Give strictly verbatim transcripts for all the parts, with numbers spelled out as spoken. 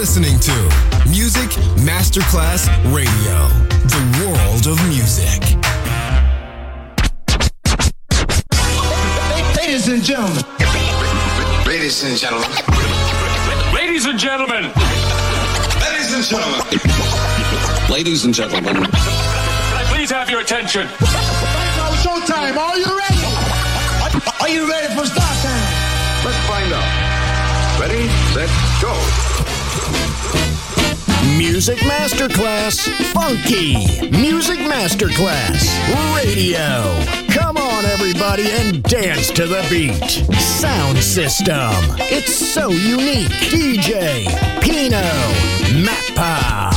listening to Music Masterclass Radio, the world of music. Ladies and gentlemen. Ladies and gentlemen. Ladies and gentlemen. Ladies and gentlemen. Ladies and gentlemen. Please have your attention. Now showtime. Are you ready? Are you ready for start time? Let's find out. Ready, set, go. Music Masterclass Funky. Music Masterclass Radio. Come on, everybody, and dance to the beat. Sound system. It's so unique. D J Pino Mappa.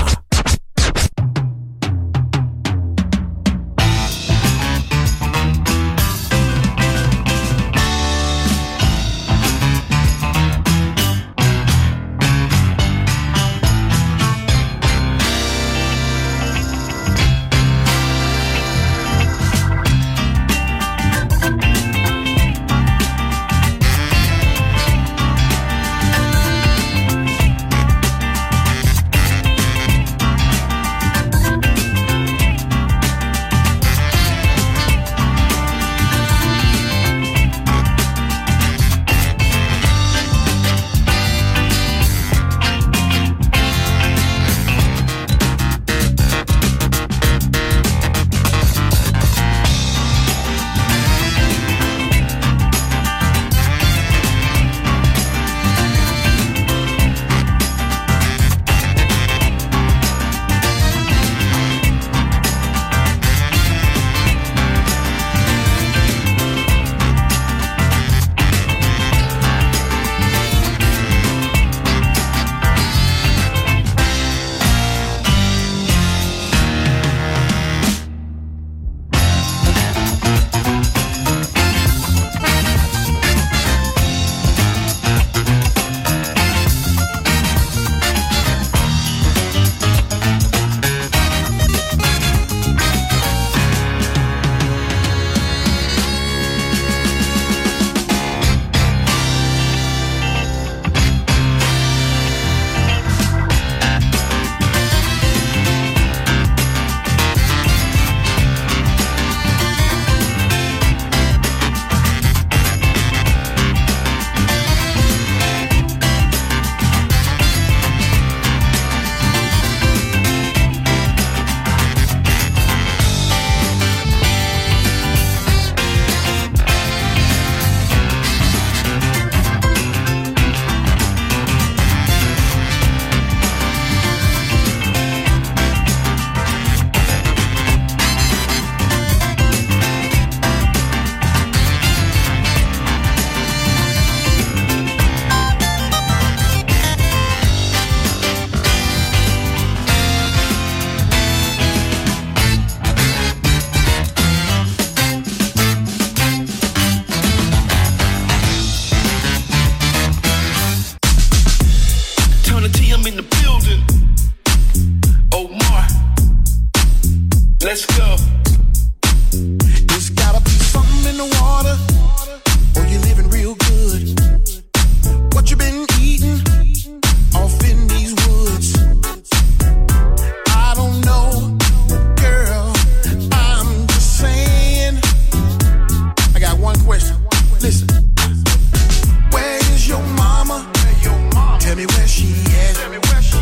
Tell me where she at.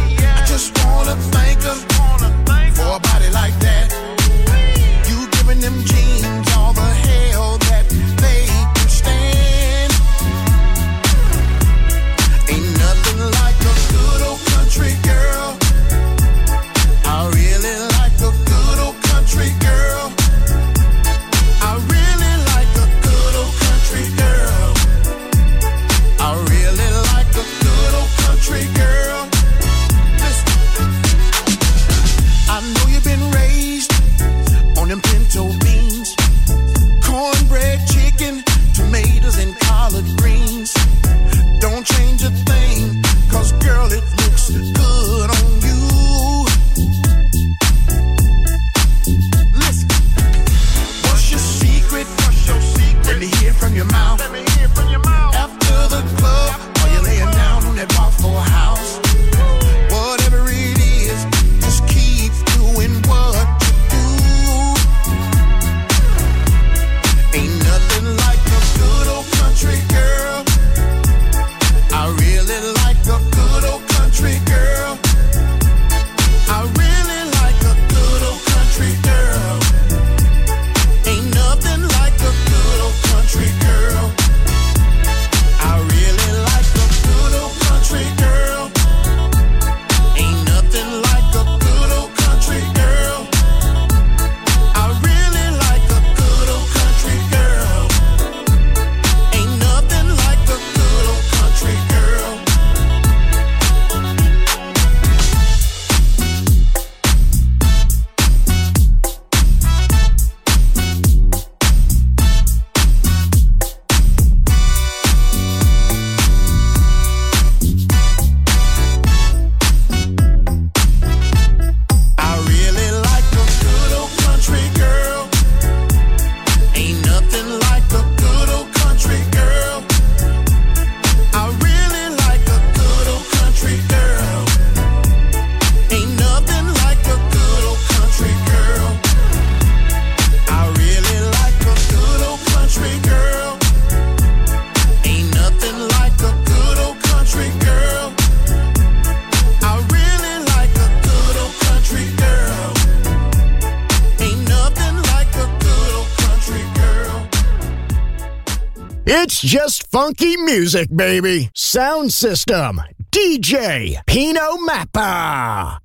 It's just funky music, baby. Sound system, D J Pino Mappa.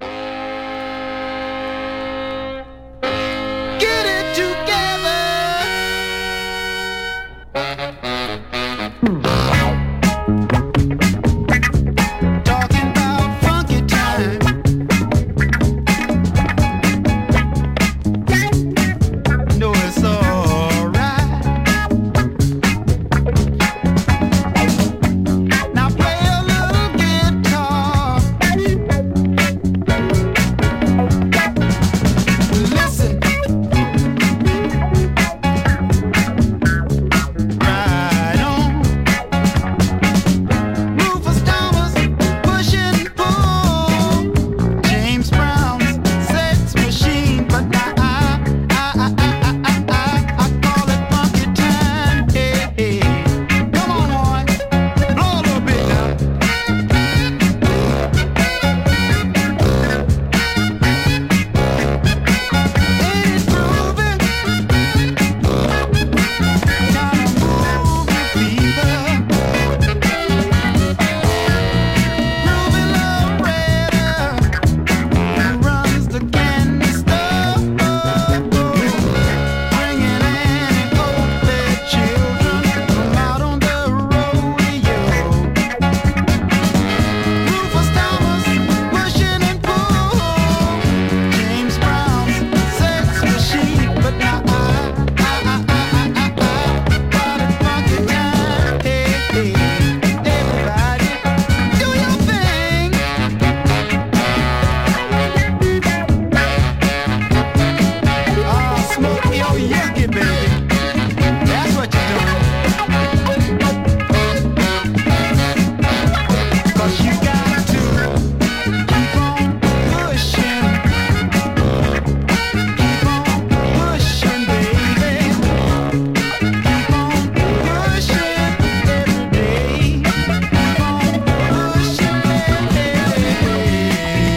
Get it together. Talking about funky time. No, it's all right. Now play a little guitar. Listen. Right on. Rufus Thomas, push and pull. James Brown's sex machine, but I, I, I, I, I, I, I call it funky time. Hey, hey. Come on, boy, blow a little bit now. Ain't it groovy? Kinda moving fever. Groovy love raider, who runs the candy store, bringing Annie Oakley children from out on the rodeo. Rufus Thomas, pushing and pull. James Brown's sex machine, but now I, I, I, I, I, I, got it funky time. Hey, hey, everybody, do your thing. Oh, smoke your yucky, baby. That's what you're doing. 'Cause you got to keep on pushing. Keep on pushing, baby. Keep on pushing every day. Keep on pushing, baby.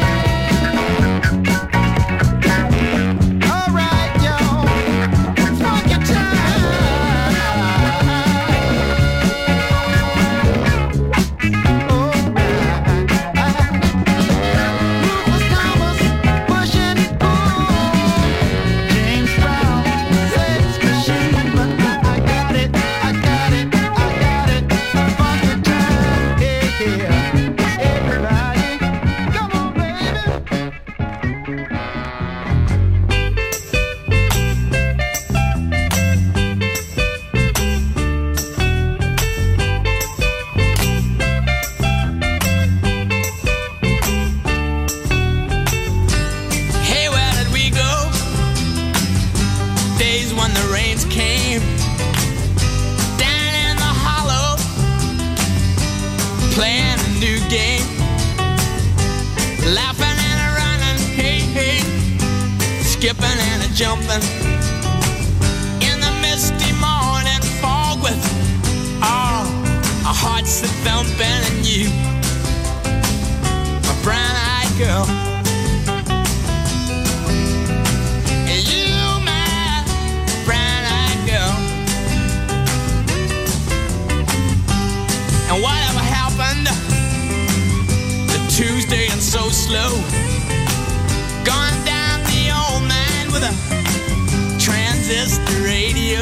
All right, y'all. Funky time. Oh, Rufus Thomas, pushing and pull. James Brown, sex machine, but I got it, I got it, I got it. Funky time, yeah, everybody, come on, baby. Hey, where did we go? Days when the rains came down in the hollow, playing a new game, laughing and a running, hey, hey, skipping and a jumping in the misty morning fog with all our hearts that thumping and you, my brown-eyed girl. And you, my brown-eyed girl. And whatever happened to Tuesday and so slow, gone down the old man with a transistor radio,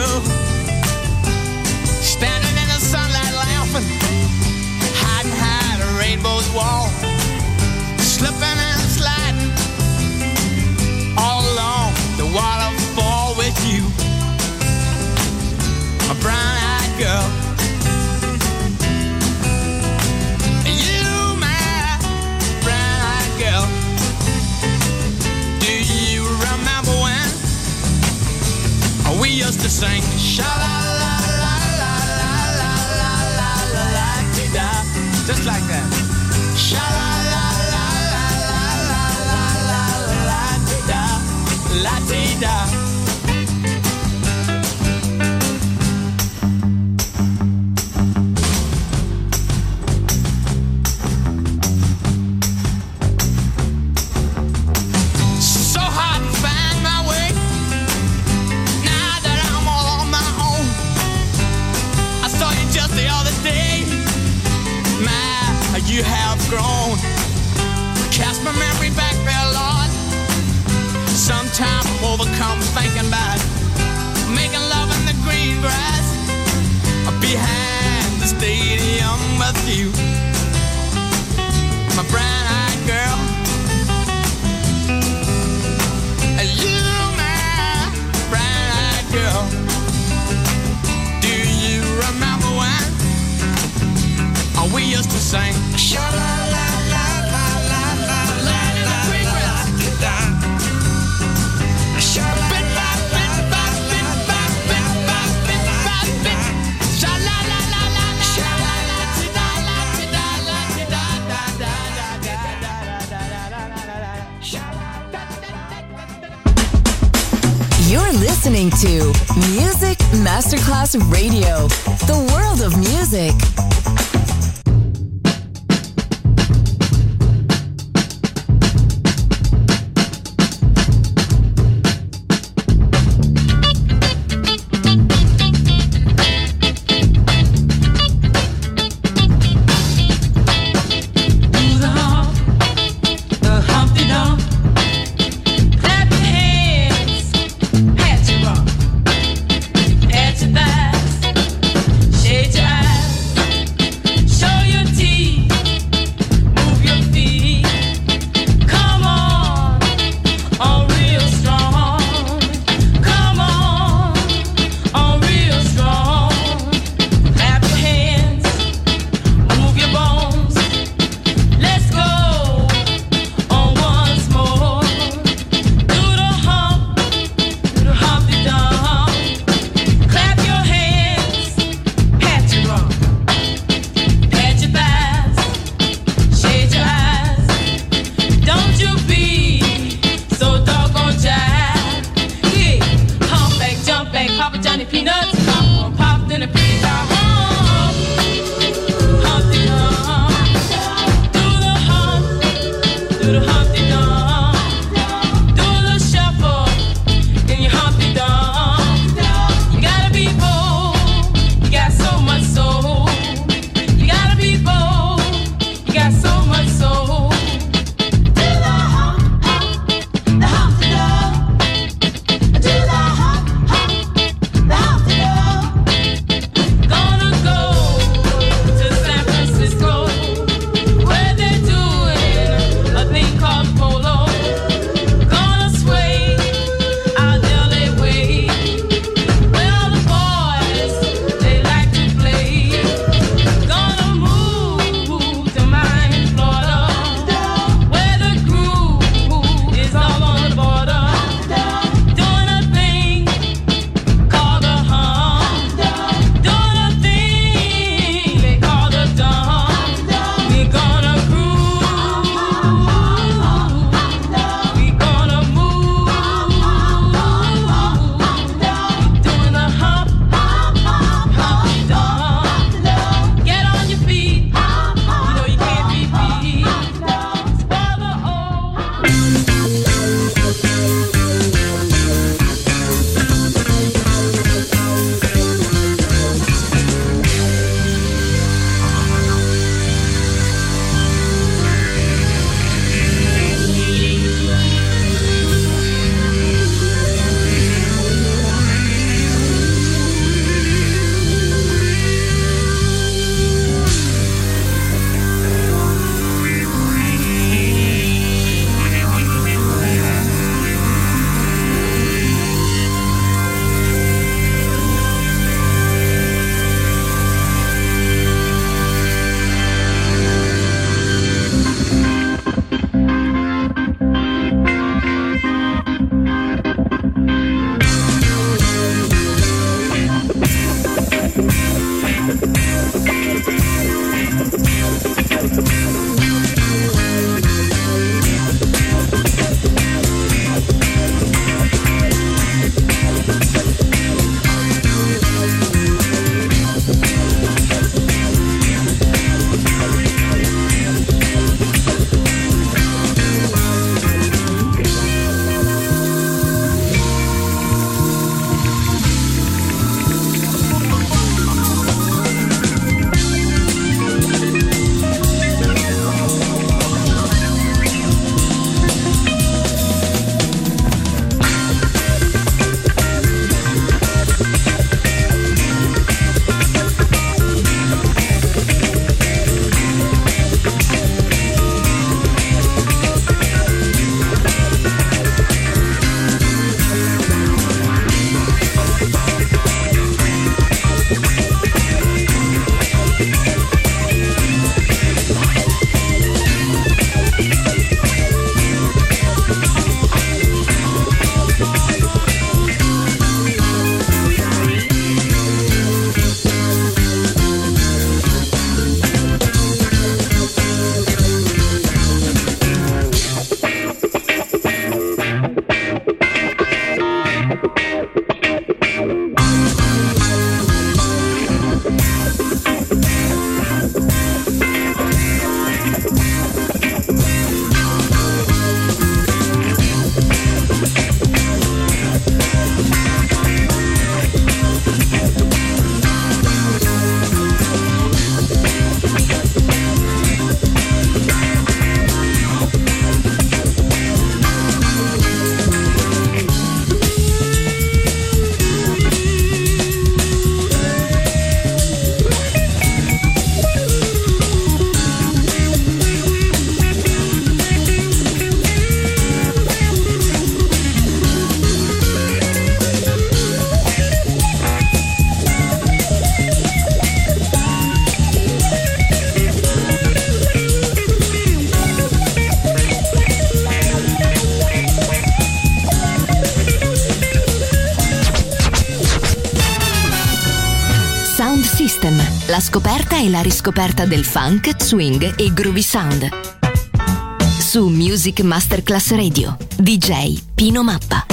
standing in the sunlight laughing, hiding behind a rainbow's wall, slipping and sliding all along the waterfall with you, my brown-eyed girl. You, my brown-eyed girl. Do you remember when we used to sing sha-la-la-la-la-la-la-la-la-la-la-la-la-la-la-la, just like that? Sha-la-la-la-la-la-la-la-la-la-la-la-la-la. So hard to find my way now that I'm all on my own. I saw you listening to Music Masterclass Radio, the world of music. Called La scoperta e la riscoperta del funk, swing e groovy sound. Su Music Masterclass Radio, D J Pino Mappa.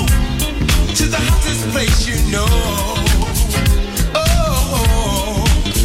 Place you know. Oh,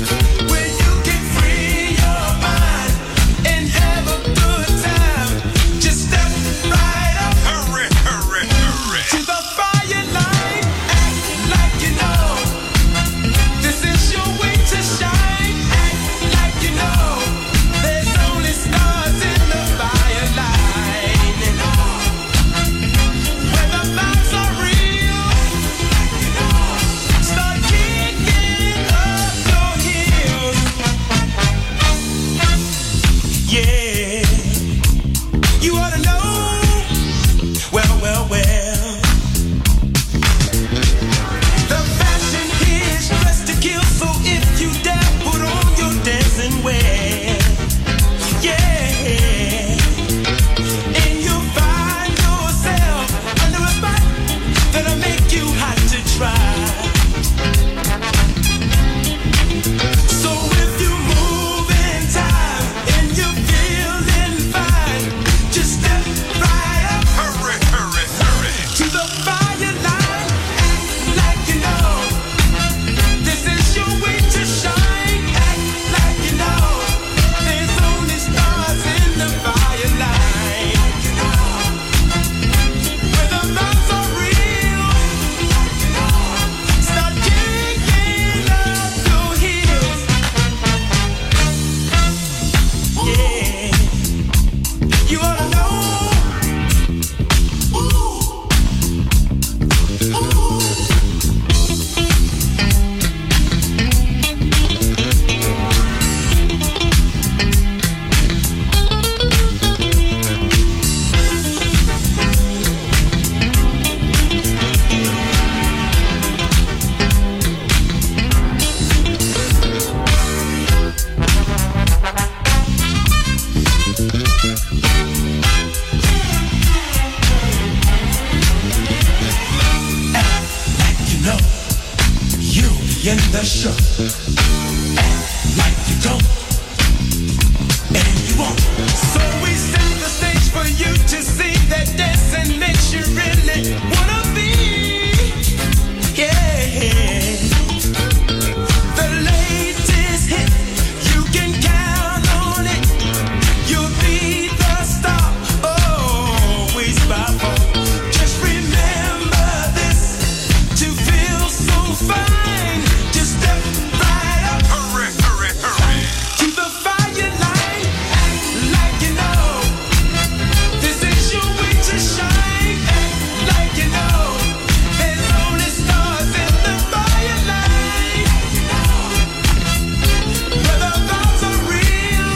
in the show. Act like you don't, and you won't. So we set the stage for you to see that dancing makes you really wanna be. Yeah. The latest hit, you can count on it. You'll be the star, always by far. Just remember this, to feel so fine, just step right up. Hurry, hurry, hurry. To the fire line, act like you know. This is your way to shine, act like you know. There's only stars in the fire line. Where the thoughts are real.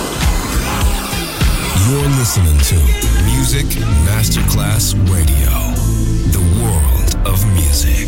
You're listening to Music Masterclass Radio, the world of music.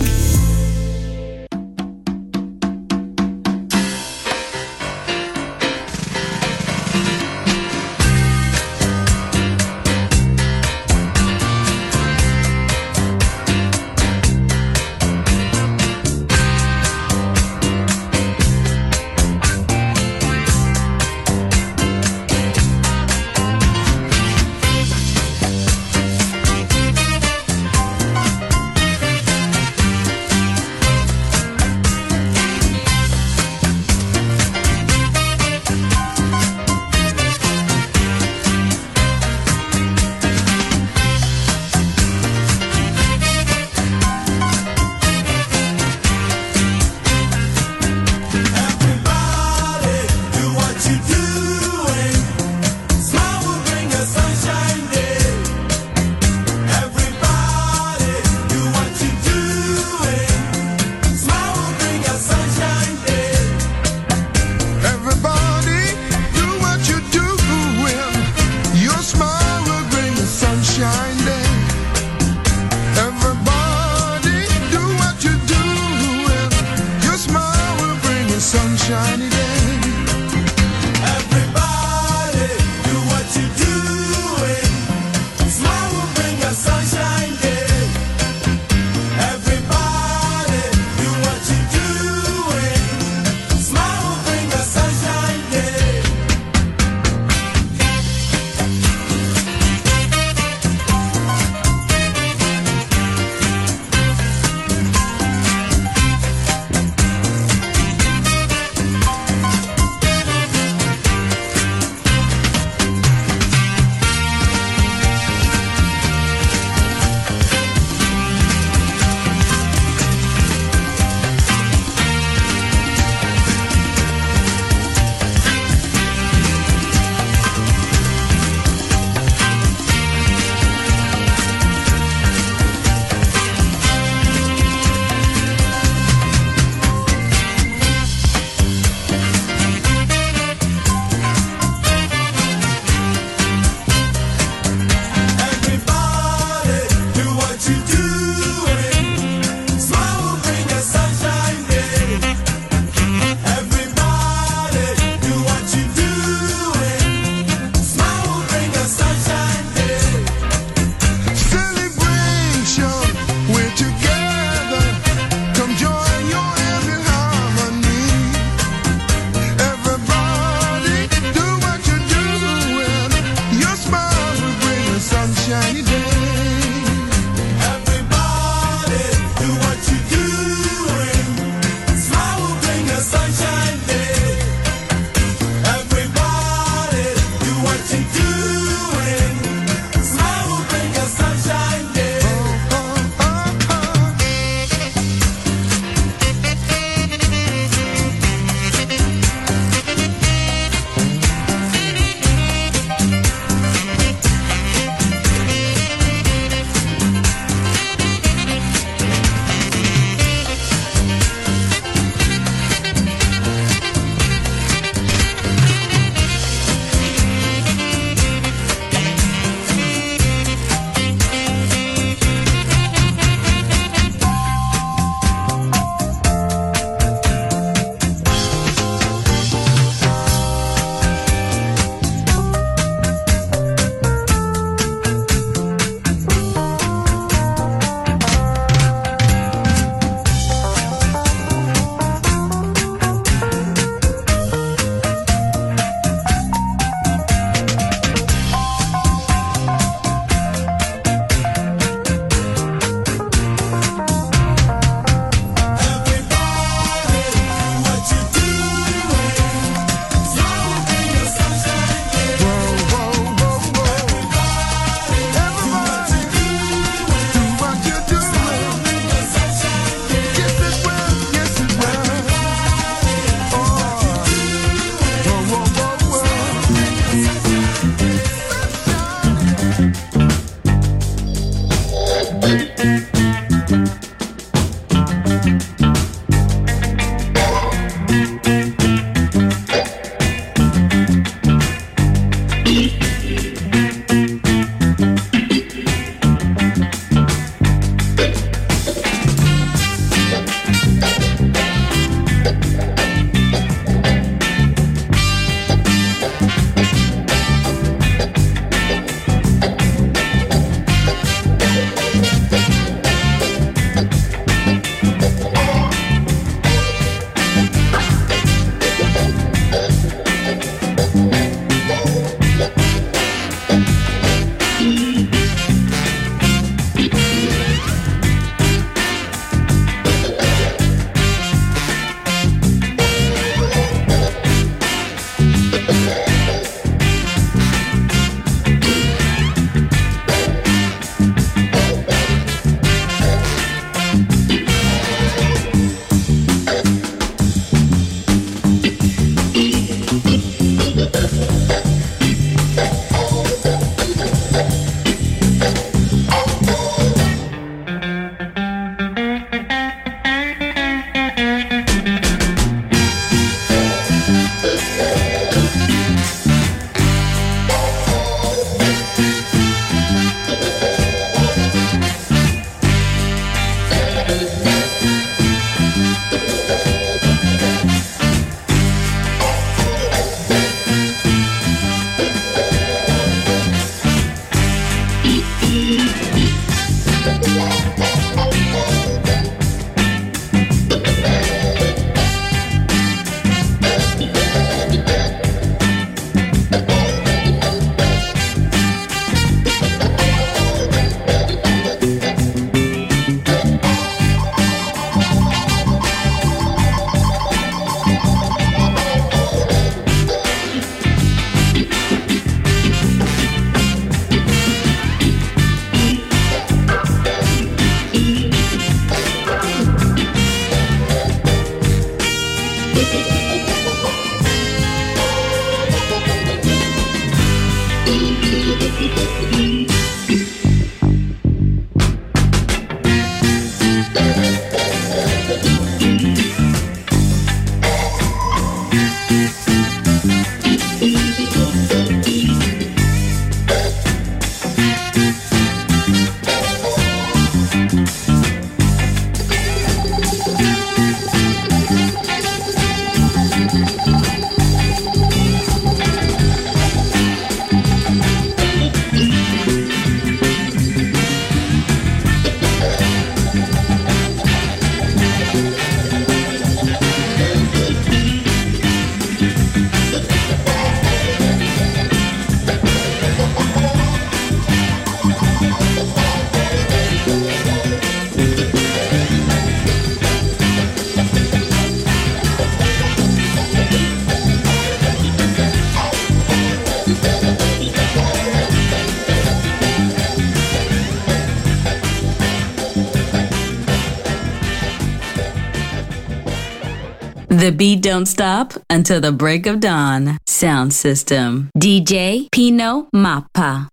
The beat don't stop until the break of dawn. Sound system. D J Pino Mappa.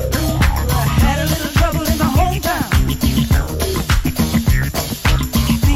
Had a little trouble in my hometown.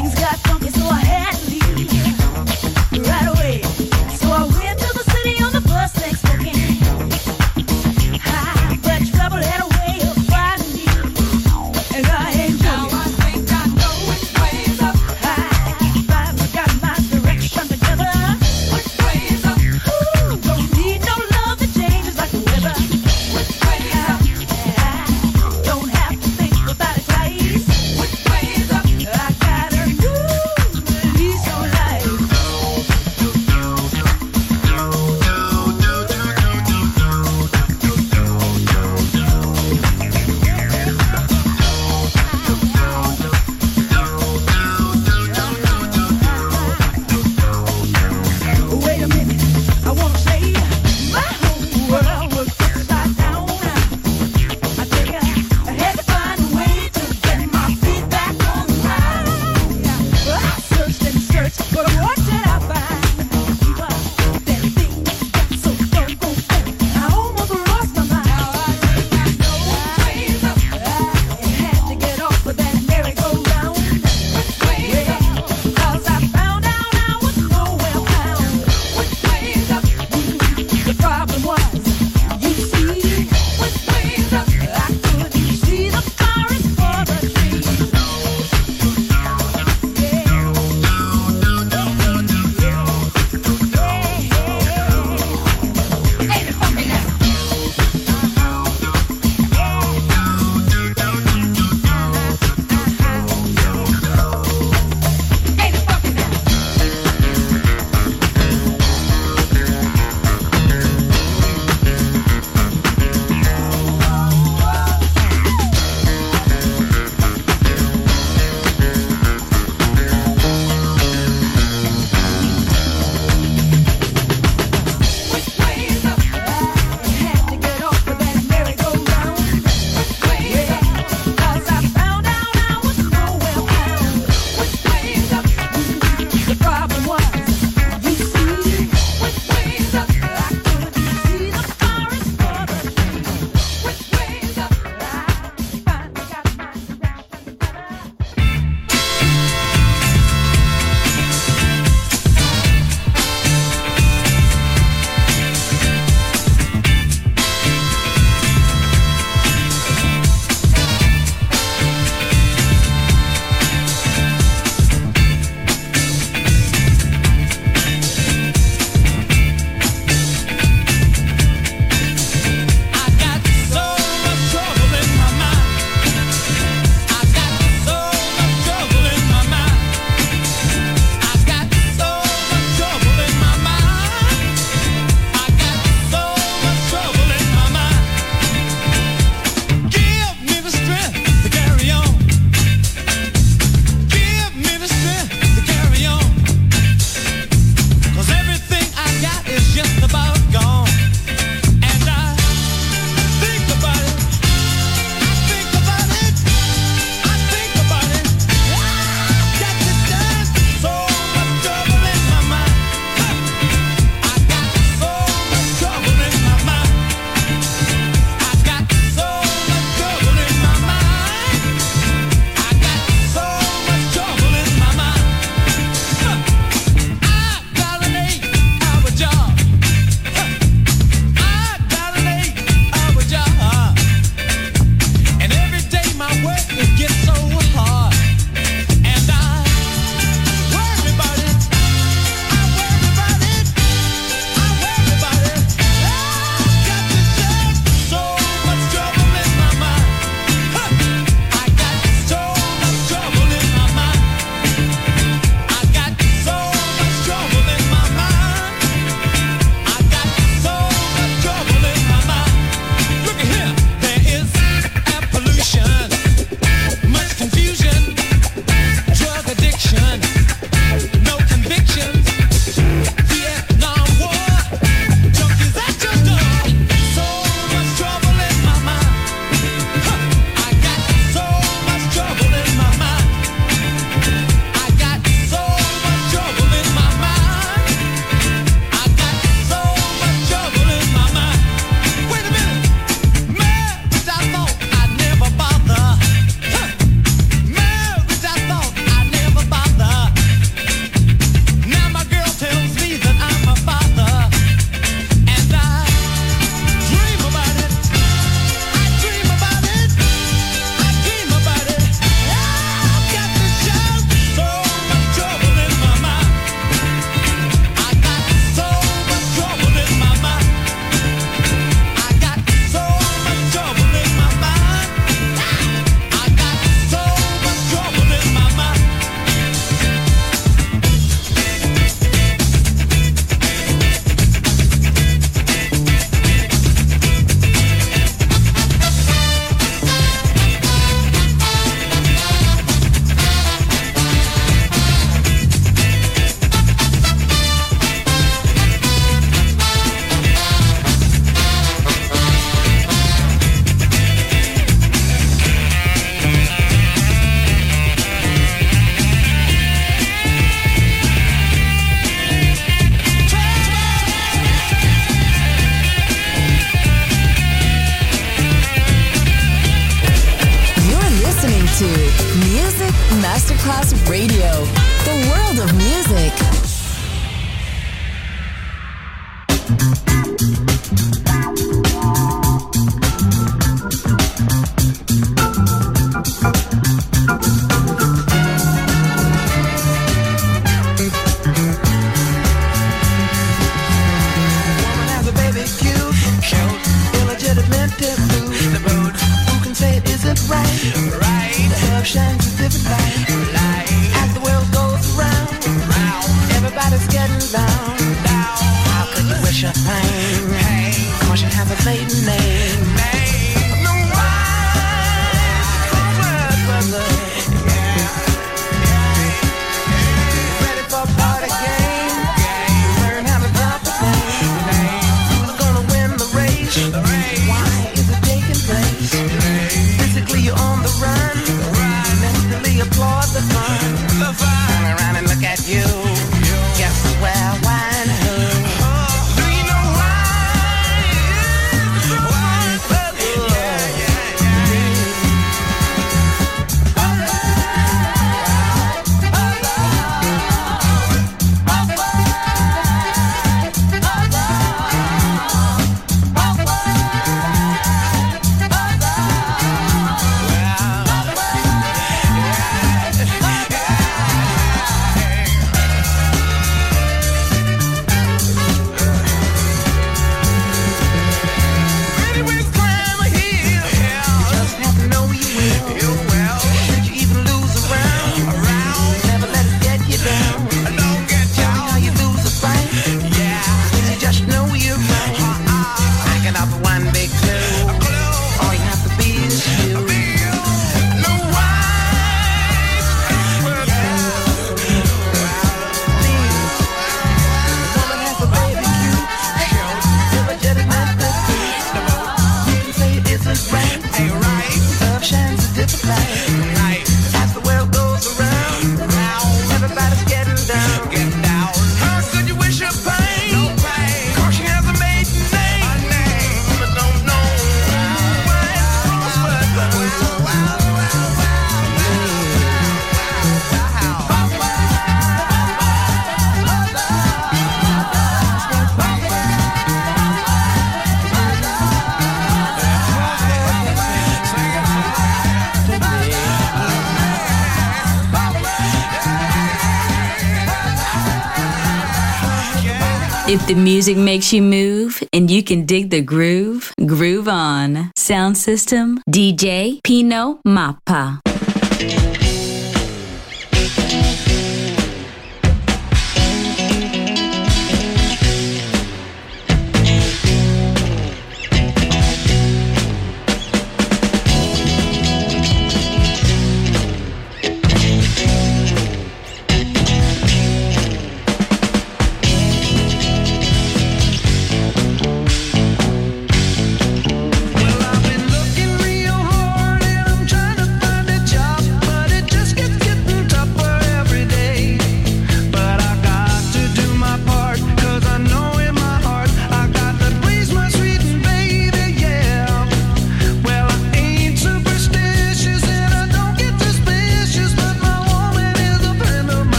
Masterclass Radio, the world of music. Shines a different light, light. As the world goes round, round. Everybody's getting down, down. How could you wish her pain? Pain. Cause she has a maiden name, name. No wise, word, brother. Yeah, yeah. Ready for a party game? Game. Learn how to drop the name. Who's gonna win the race? The race. Why is it taking place? Physically you're on the run. Applaud the fun, the fun. Turn around and look at you. you. Guess where, why, and who? Oh, do you know why? Why? Yeah, yeah, yeah. If the music makes you move and you can dig the groove, groove on. Sound system, D J Pino Mappa. Well, I've been looking real hard and I'm trying to find a job, but it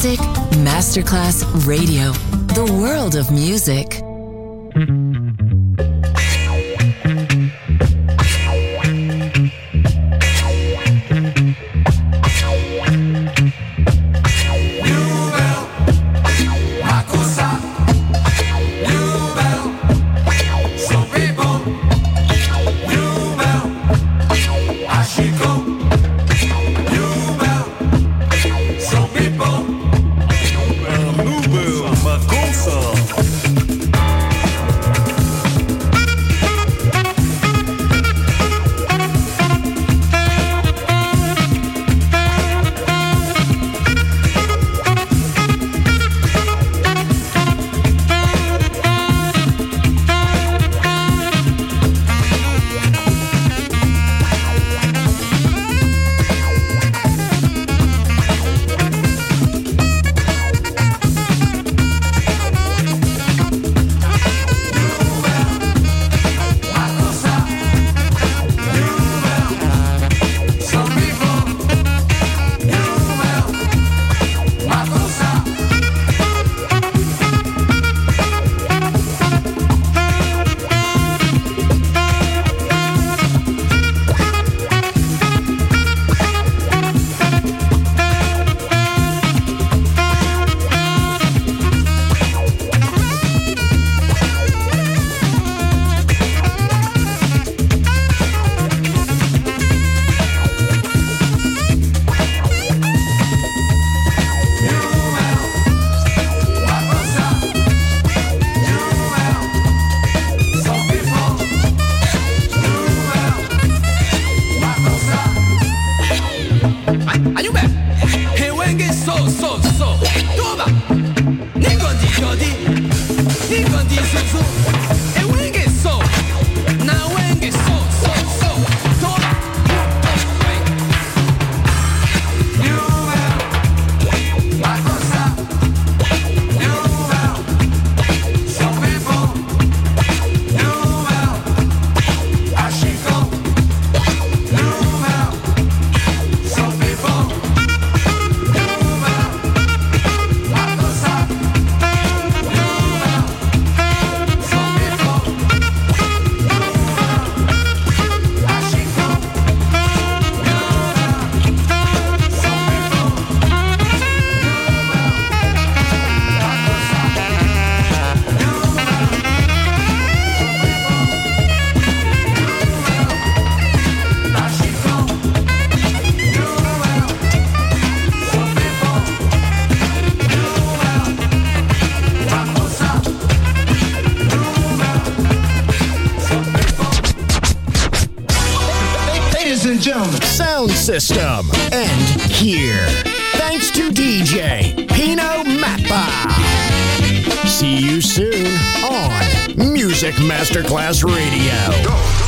Music Masterclass Radio. The world of music. Sound System. And here, thanks to D J Pino Mappa. See you soon on Music Masterclass Radio.